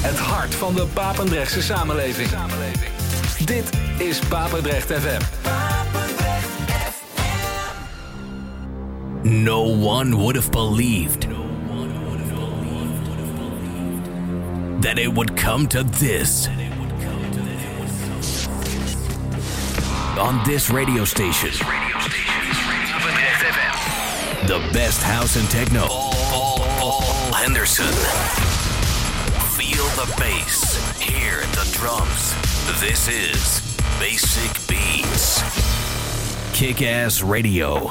Het hart van de Papendrechtse samenleving. Dit is Papendrecht FM. No one would have believed that it would come to this. On this radio station. The best house and techno. Paul Henderson. Feel the bass. Hear the drums. This is Basic Beats. Kick-Ass Radio.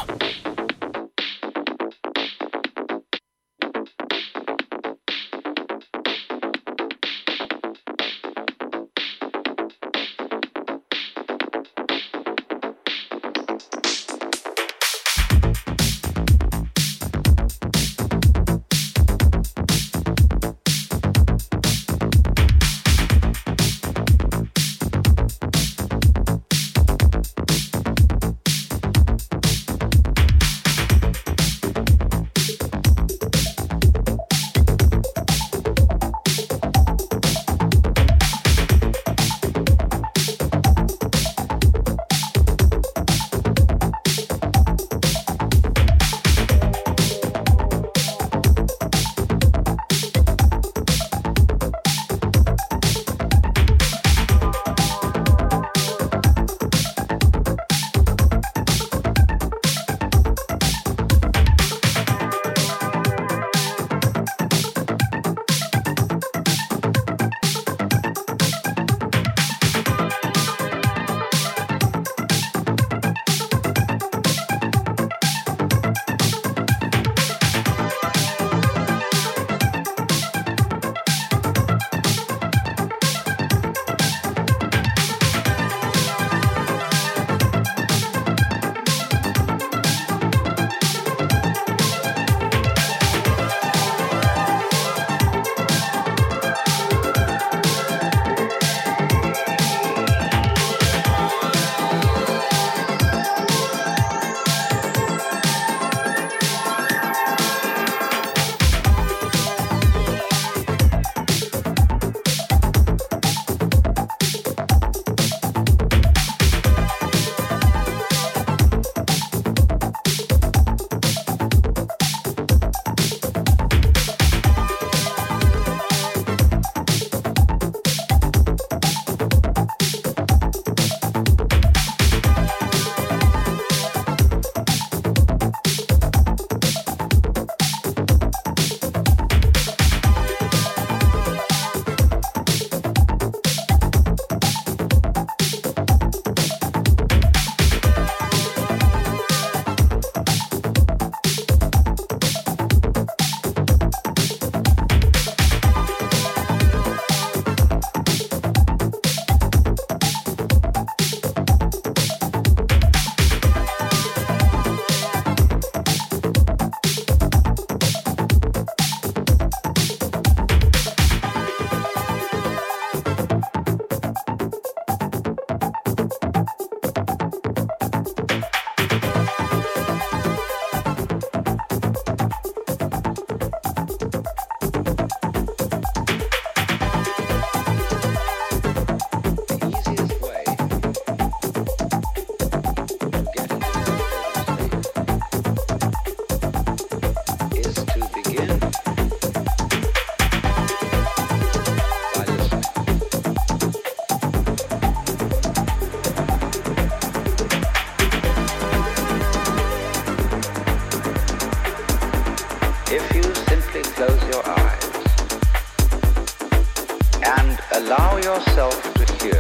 allow yourself to hear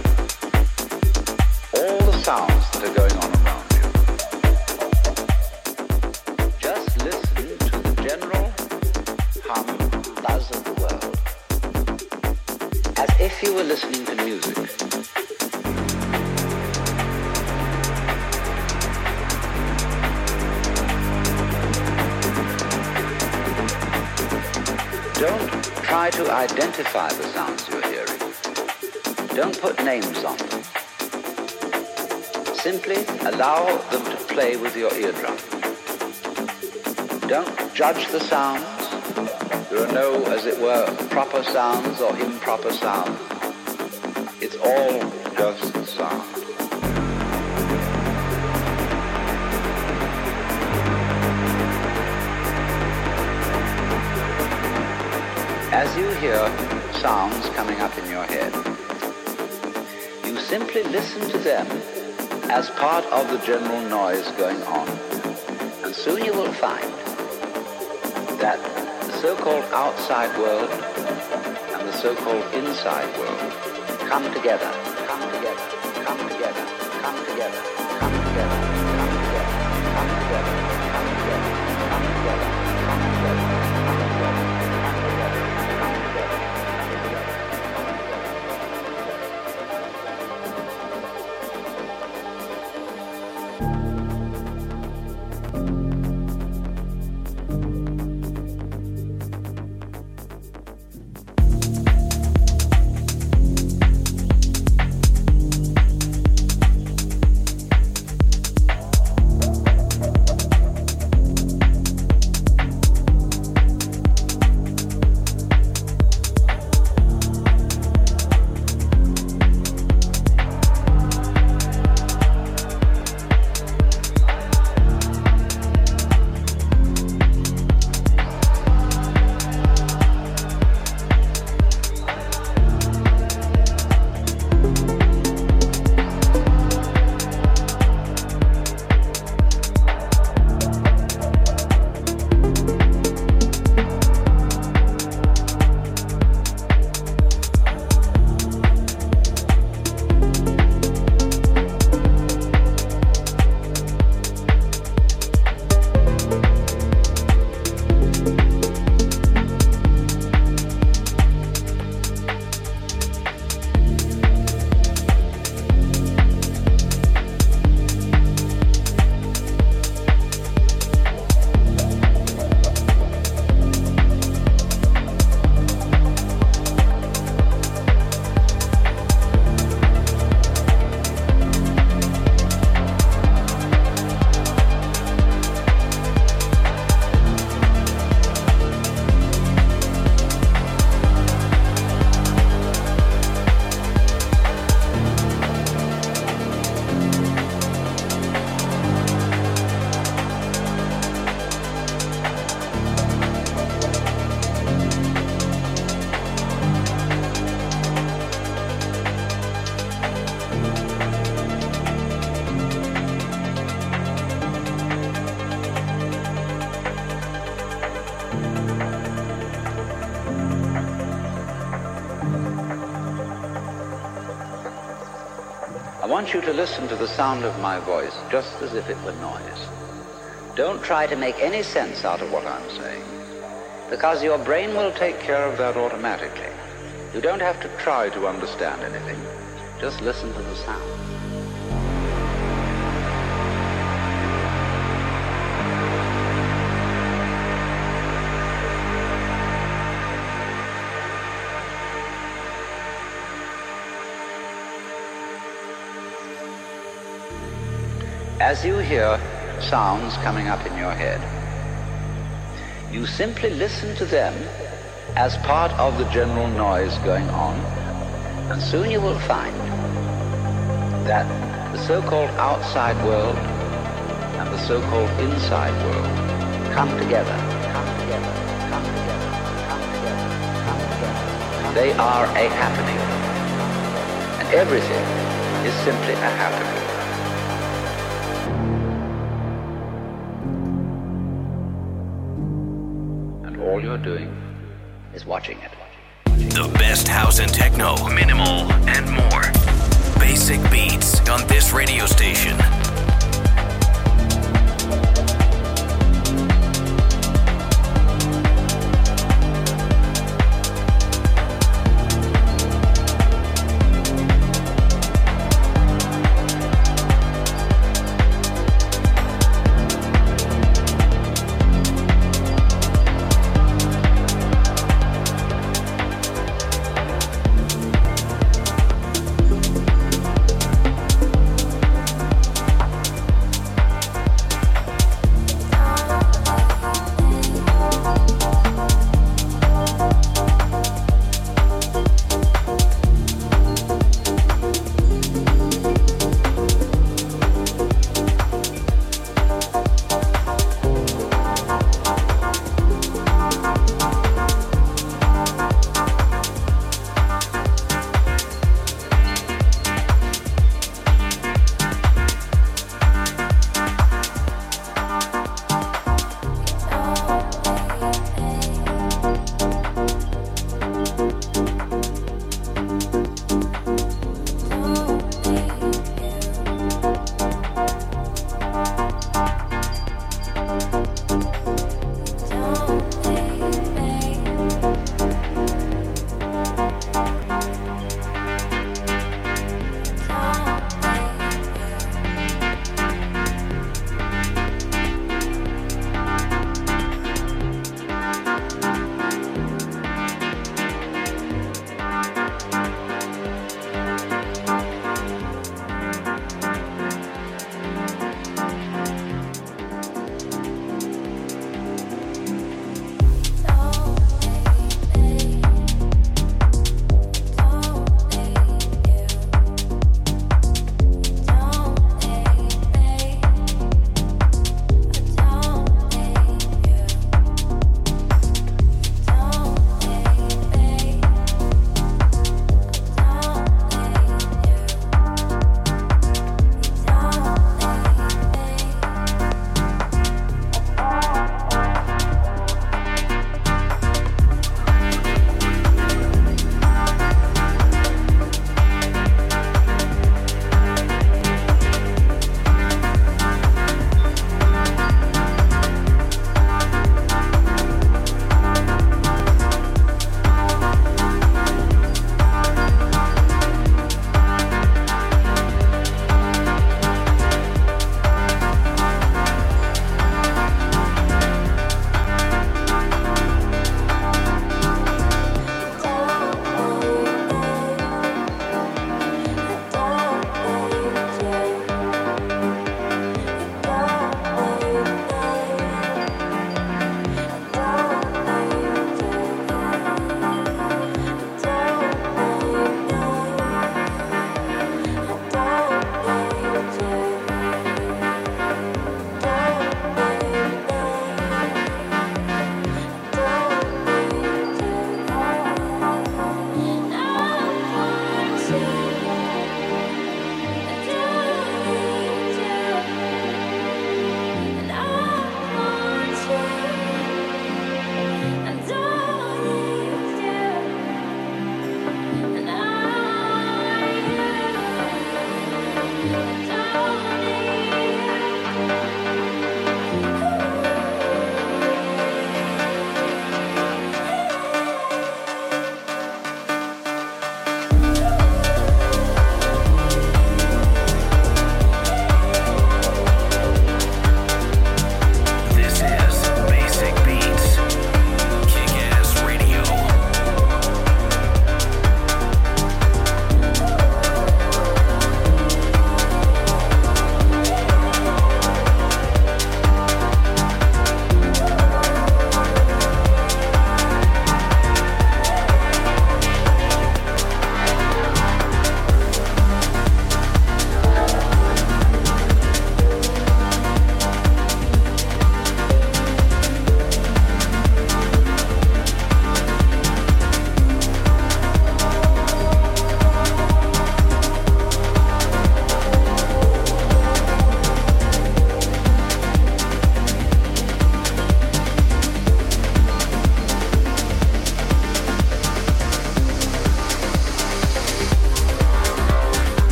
all the sounds that are going on around you. Just listen to the general hum, buzz of the world, as if you were listening to music. Don't try to identify the sounds you're hearing. Don't put names on them. Simply allow them to play with your eardrum. Don't judge the sounds. There are no, as it were, proper sounds or improper sounds. It's all just sound. As you hear sounds coming up in your head, you simply listen to them as part of the general noise going on. And soon you will find that the so-called outside world and the so-called inside world come together, come together, come together, come together, come together, come together, come together, come together, come together, come together, come together. I want you to listen to the sound of my voice just as if it were noise. Don't try to make any sense out of what I'm saying, because your brain will take care of that automatically. You don't have to try to understand anything. Just listen to the sound. As you hear sounds coming up in your head, you simply listen to them as part of the general noise going on, and soon you will find that the so-called outside world and the so-called inside world come together, come together, come together, come together, come together. They are a happening, and everything is simply a happening. All you're doing is watching it. The best house and techno, minimal and more. Basic beats on this radio station.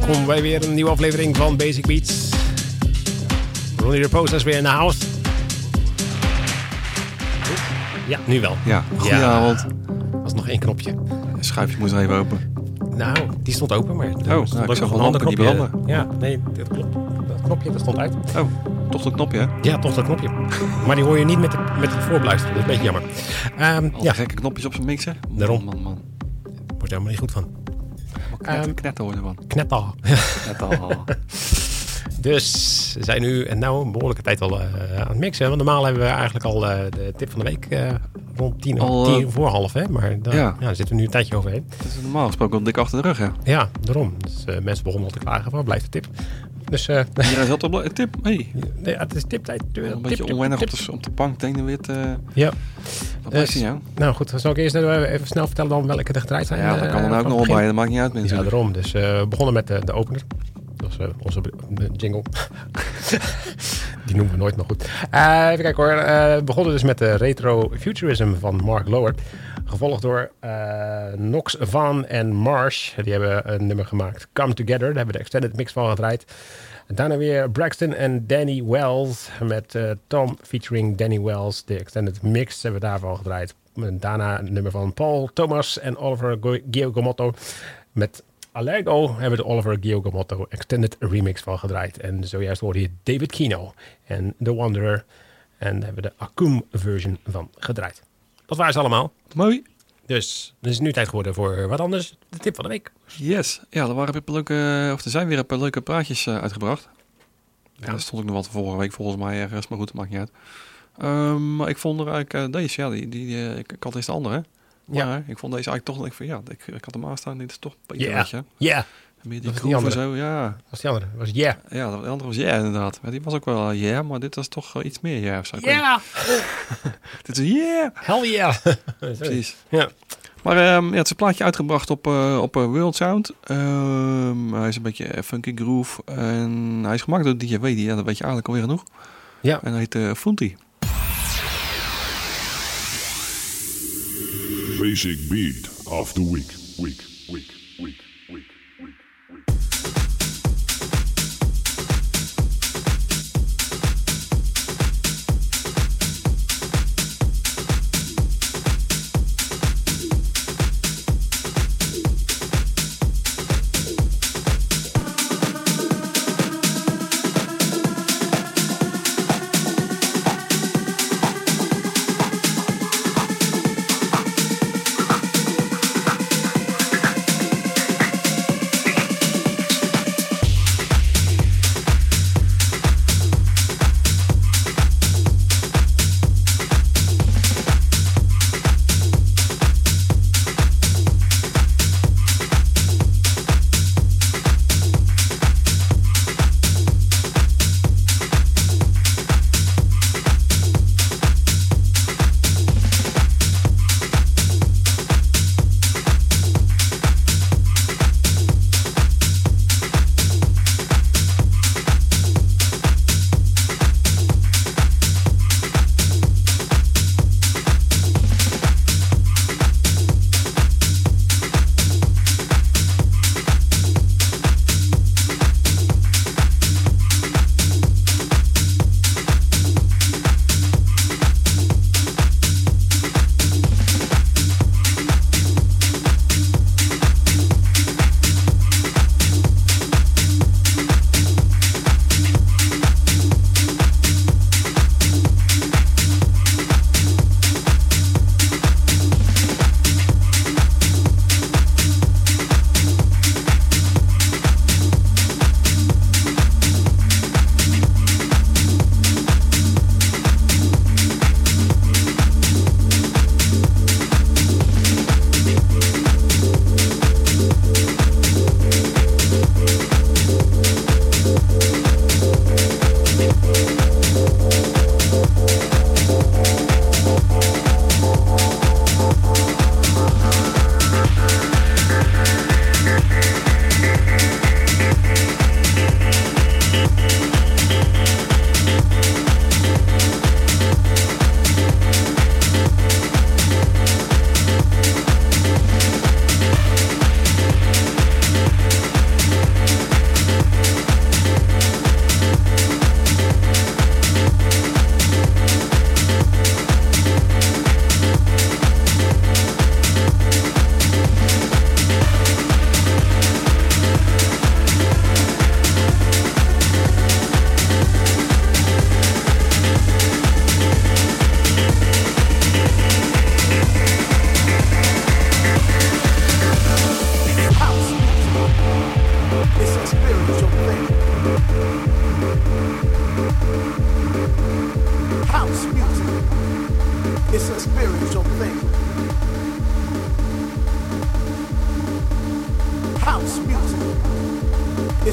welkom bij weer een nieuwe aflevering van Basic Beats. Ronnie de Post is weer in de house. Ja, nu wel. Ja, goedenavond. Dat was nog 1 knopje. Het schuifje moest even open. Nou, die stond open, maar ik zag wel lampen die branden. Ja, nee, dat klopt. Dat knopje, dat stond uit. Oh, toch dat knopje, hè? Ja, toch dat knopje. Maar die hoor je niet met het voorbeluisteren. Dat is een beetje jammer. Al die gekke knopjes op zijn mixer. Daarom. Man. Wordt er helemaal niet goed van. Knetter hoor ervan. Knetter. Knetter. Dus we zijn nu een behoorlijke tijd al aan het mixen. Want normaal hebben we eigenlijk al de tip van de week rond 10 voor half. Hè? Maar daar zitten we nu een tijdje overheen. Dat is normaal gesproken al dik achter de rug, hè? Ja, daarom. Dus mensen begonnen al te klagen van, blijft de tip. Dus, Iedereen zat op tip. Hey. Ja, het is tiptijd. Een beetje onwennig op de bank. Denk dan weer ja. Wat blijft hij jou? Nou goed, zal ik eerst even snel vertellen dan welke er gedraaid zijn? Ja, dat kan dan ook nog wel bij. Dat maakt niet uit, mensen. Ja, daarom. Dus we begonnen met de opener. Dat was onze jingle. Die noemen we nooit nog goed. Even kijken hoor. We begonnen dus met de Retro Futurism van Mark Lower. Gevolgd door Nox Van en Marsh. Die hebben een nummer gemaakt. Come Together. Daar hebben we de extended mix van gedraaid. En daarna weer Braxton en Danny Wells. Met Tom featuring Danny Wells. De extended mix hebben we daarvan gedraaid. En daarna een nummer van Paul Thomas en Oliver Giacomotto. Met Allergo hebben we de Oliver Giacomotto extended remix van gedraaid. En zojuist hoorde je David Kino en The Wanderer. En daar hebben we de Akum version van gedraaid. Dat waren ze allemaal. Mooi. Dus het is nu tijd geworden voor wat anders. De tip van de week. Yes. Ja, er zijn weer een paar leuke praatjes uitgebracht. Ja, daar stond ik nog wat vorige week volgens mij ergens. Maar goed, dat maakt niet uit. Maar ik vond er eigenlijk deze. Ja, ik had eerst de andere. Maar ja. Ik vond deze eigenlijk toch. Ik had hem aanstaan. Dit is toch een beetje. Ja. Meer die groove en zo. Ja. Was die andere? Was ja. Ja, de andere was inderdaad. Maar die was ook wel maar dit was toch iets meer of zo. Ja. Dit is Hell yeah. Precies. Ja. Maar het is een plaatje uitgebracht op World Sound. Hij is een beetje funky groove. En hij is gemaakt door DJ Wedi. Dat weet je eigenlijk alweer genoeg. Ja. En hij heet Funti. Basic Beat of the Week.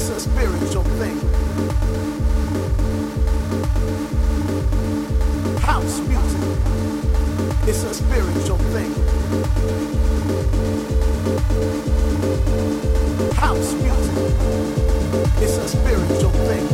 It's a spiritual thing. House music. It's a spiritual thing. House music. It's a spiritual thing.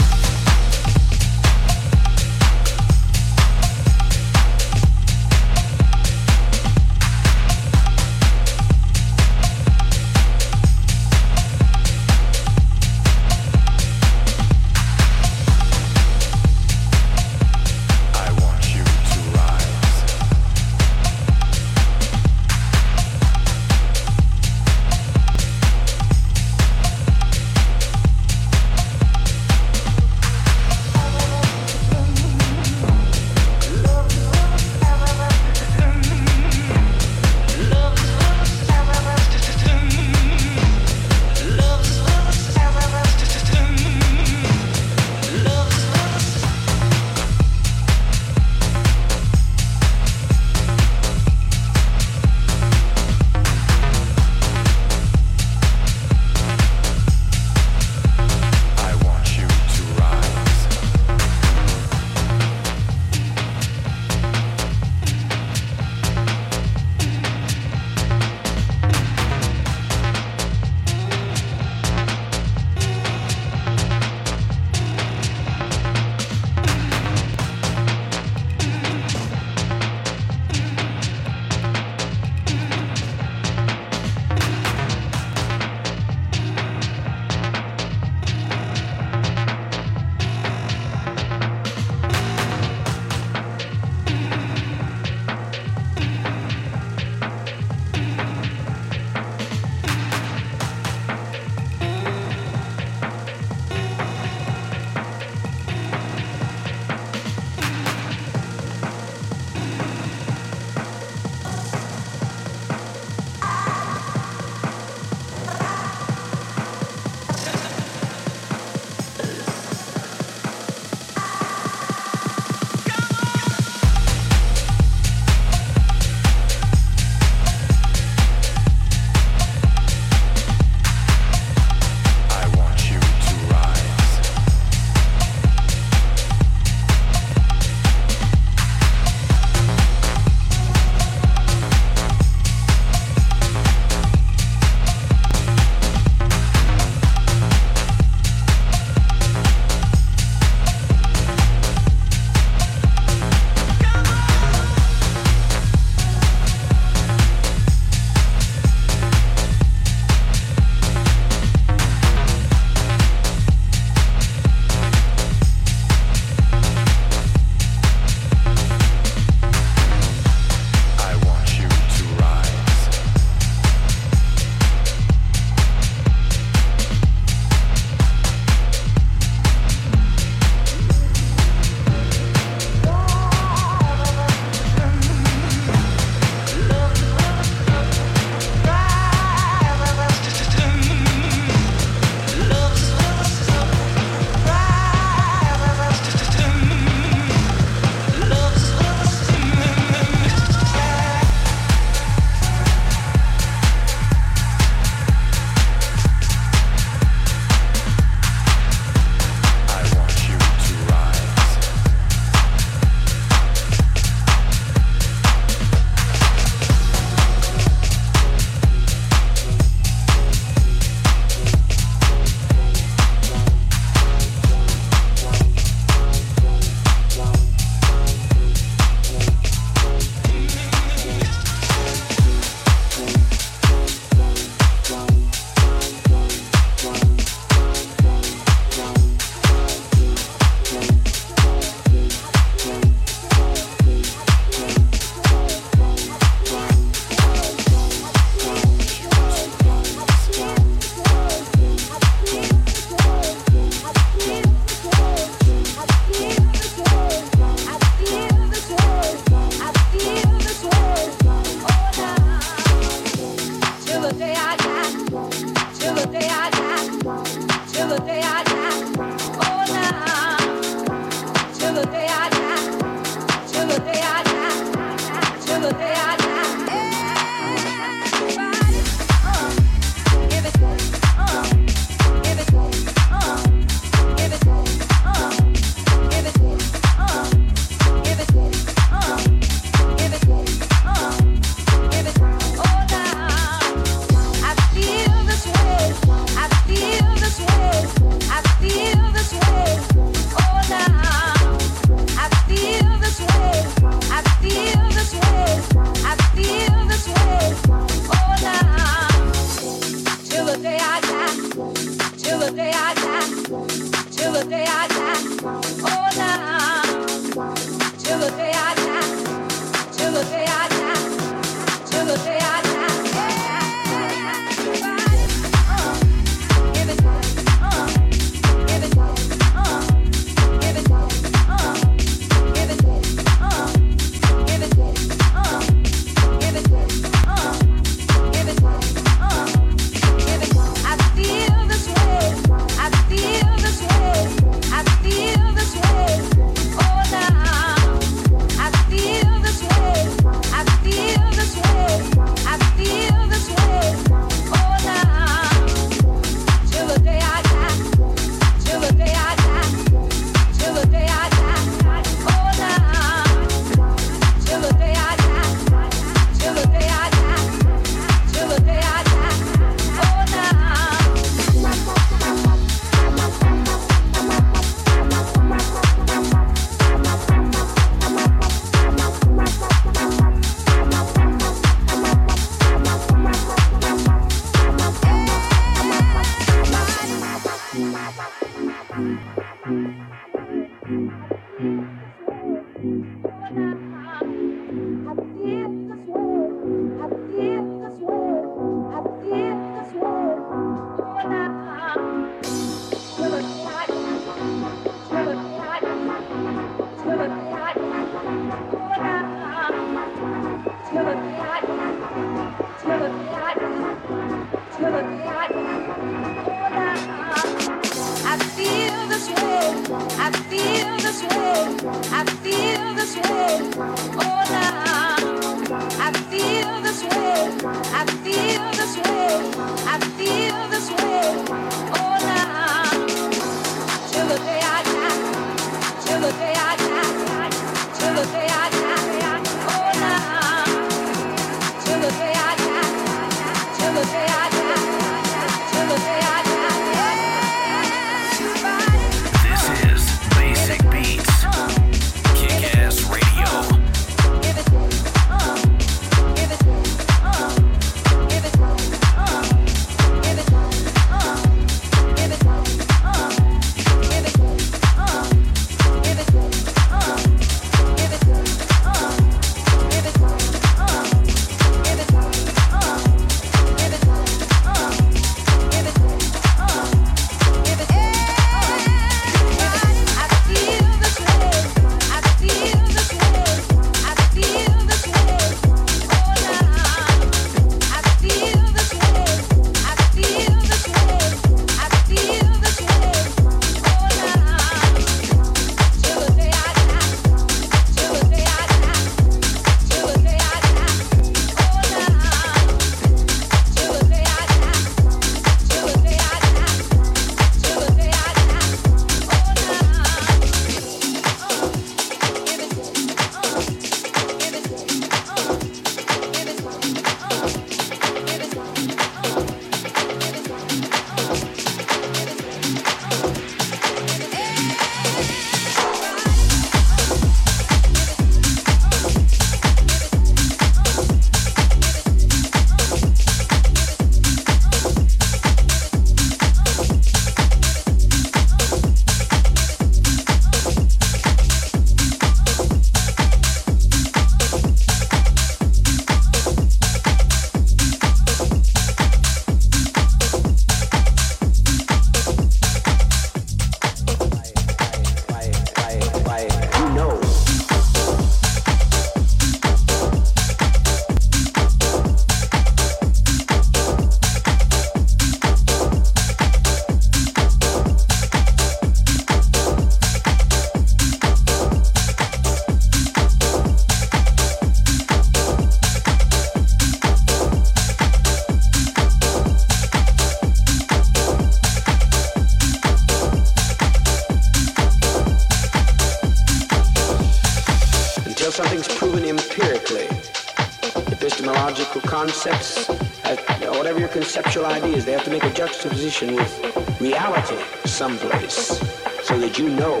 Concepts, whatever your conceptual ideas, they have to make a juxtaposition with reality someplace so that you know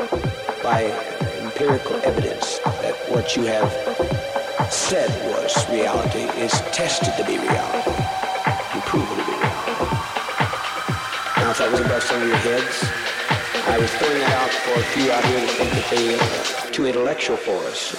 by empirical evidence that what you have said was reality is tested to be reality and proven to be reality. Now, if that was above some of your heads, I was throwing that out for a few out here to think that they are too intellectual for us.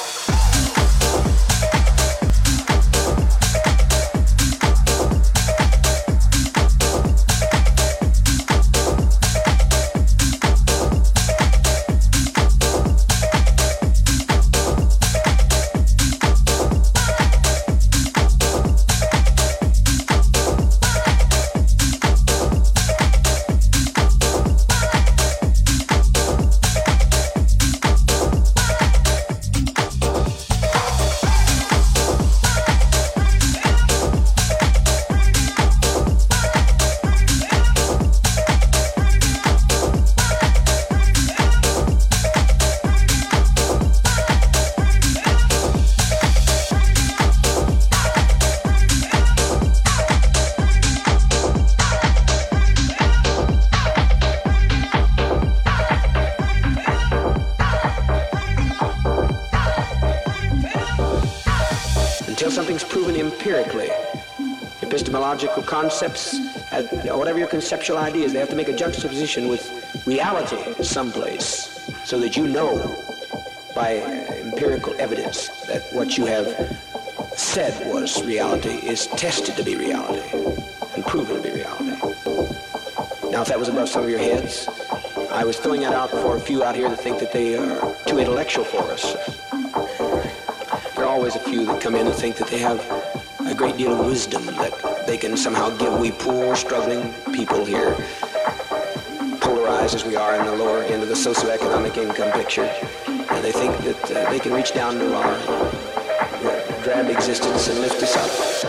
Something's proven empirically. Epistemological concepts, whatever your conceptual ideas, they have to make a juxtaposition with reality someplace so that you know by empirical evidence that what you have said was reality is tested to be reality and proven to be reality. Now, if that was above some of your heads, I was throwing that out for a few out here that think that they are too intellectual for us. There are always a few that come in and think that they have a great deal of wisdom that they can somehow give we poor, struggling people here, polarized as we are in the lower end of the socioeconomic income picture. And they think that they can reach down to our drab existence and lift us up.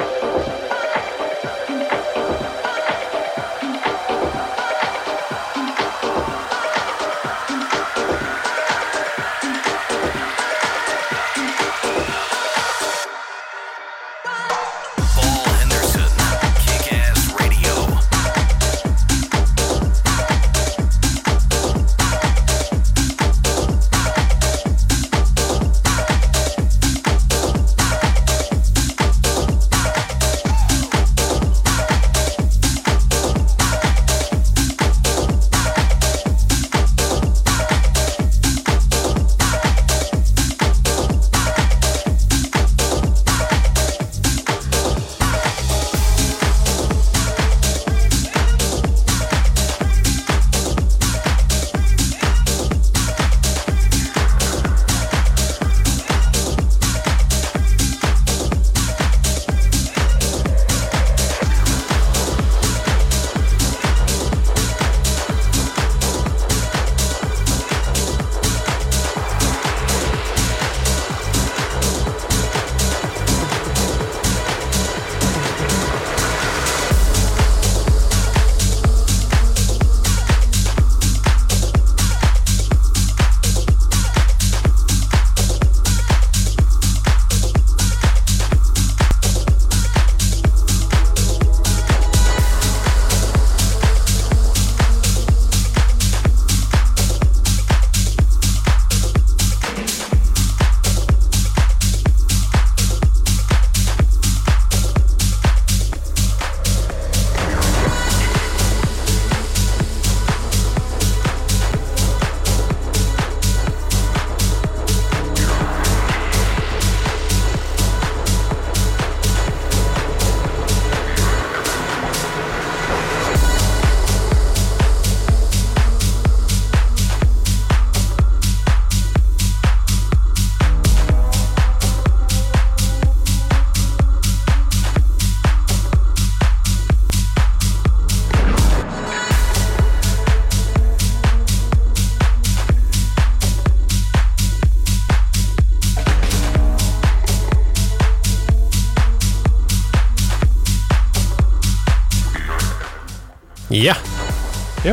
Ja. Ja.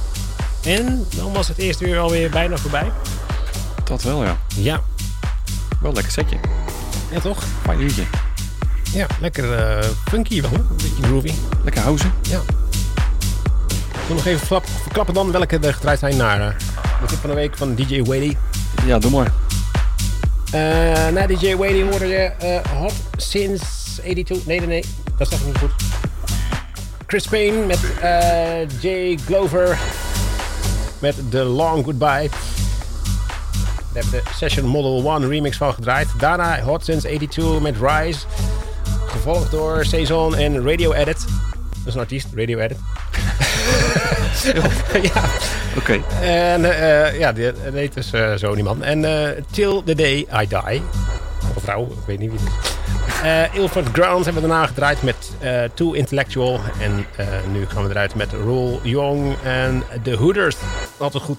En dan was het eerste uur alweer bijna voorbij. Dat wel, ja. Ja. Wel lekker setje. Ja, toch? Fijn uurtje. Ja, lekker funky wel. Een beetje groovy. Lekker houden. Ja. Ik wil nog even verklappen dan welke er gedraaid zijn naar de tip van de week van DJ Wady. Ja, doe maar. Na DJ Wady hoorde je Hot Since 82. Nee, dat is echt niet goed. Chris Payne met Jay Glover met The Long Goodbye. Daar hebben we de Session Model 1 remix van gedraaid. Daarna Hot Since 82 met Rise. Gevolgd door Saison en Radio Edit. Dat is een artiest, Radio Edit. Ja. Oké. En ja, die heet dus zo die man. En Till the Day I Die. Of vrouw, ik weet niet wie het is. Ilford Ground hebben we daarna gedraaid met Too Intellectual. En nu gaan we eruit met Roel Young en The Hooders. Altijd goed.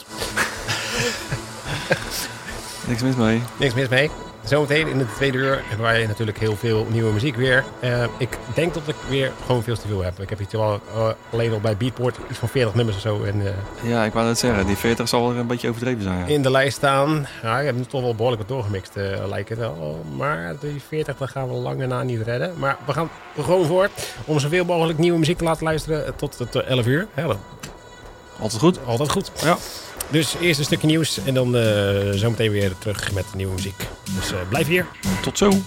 Niks mis mee. Niks mis mee. Zometeen in de tweede uur hebben wij natuurlijk heel veel nieuwe muziek weer. Ik denk dat ik weer gewoon veel te veel heb. Ik heb hier wel alleen al bij Beatport iets van 40 nummers of zo. En, ja, ik wou net zeggen. Die 40 zal er een beetje overdreven zijn. Ja. In de lijst staan. Ja, ik heb nu toch wel behoorlijk wat doorgemixt, lijkt het wel. Maar die 40 dat gaan we lang daarna niet redden. Maar we gaan er gewoon voor om zoveel mogelijk nieuwe muziek te laten luisteren tot het 11 uur. Ja, altijd goed. Altijd goed. Ja. Dus eerst een stukje nieuws en dan zometeen weer terug met nieuwe muziek. Dus blijf hier. Tot zo.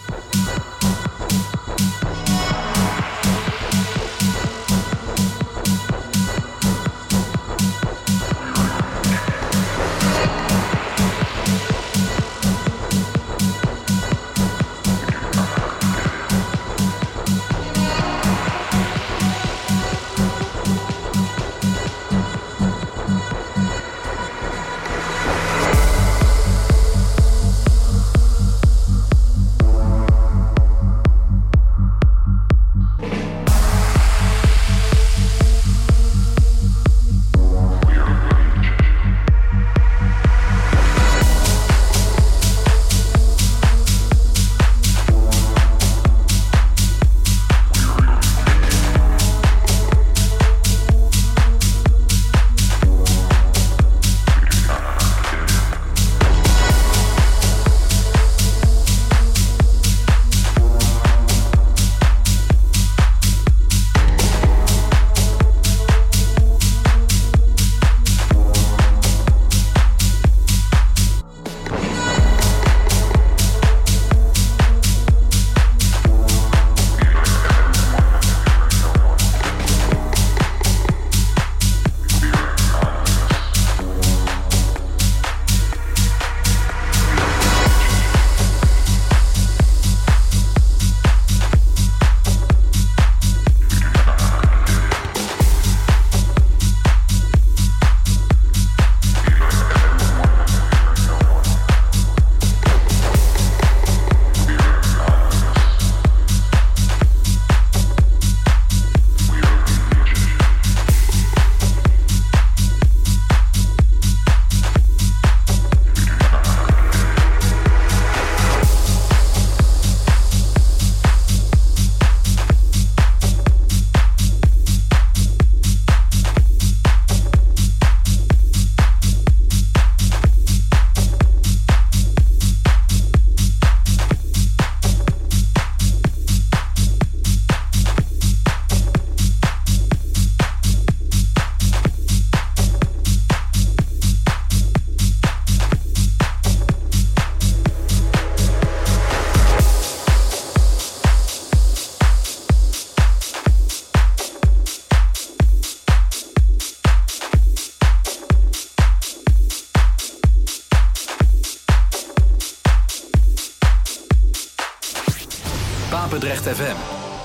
Papendrecht FM.